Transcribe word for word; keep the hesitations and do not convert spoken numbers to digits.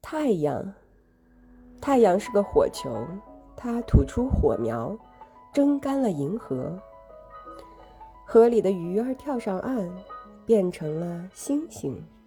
太阳，太阳是个火球，它吐出火苗，蒸干了银河。河里的鱼儿跳上岸，变成了星星。